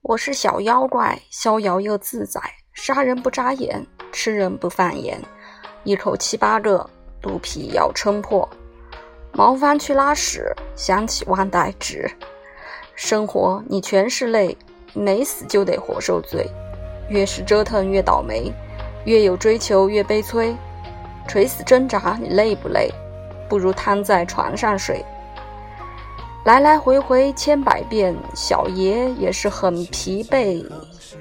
我是小妖怪，逍遥又自在，杀人不眨眼，吃人不犯眼，一口7、8个，肚皮要撑破。毛翻去拉屎，想起万代纸。生活你全是泪，没死就得活受罪。越是折腾越倒霉，越有追求越悲催。垂死挣扎你累不累？不如瘫在床上睡。来来回回千百遍，小爷也是很疲惫。